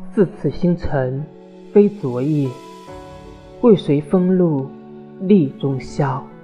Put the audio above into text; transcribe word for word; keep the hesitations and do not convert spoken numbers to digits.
自此星辰非昨夜，为谁风露立中宵。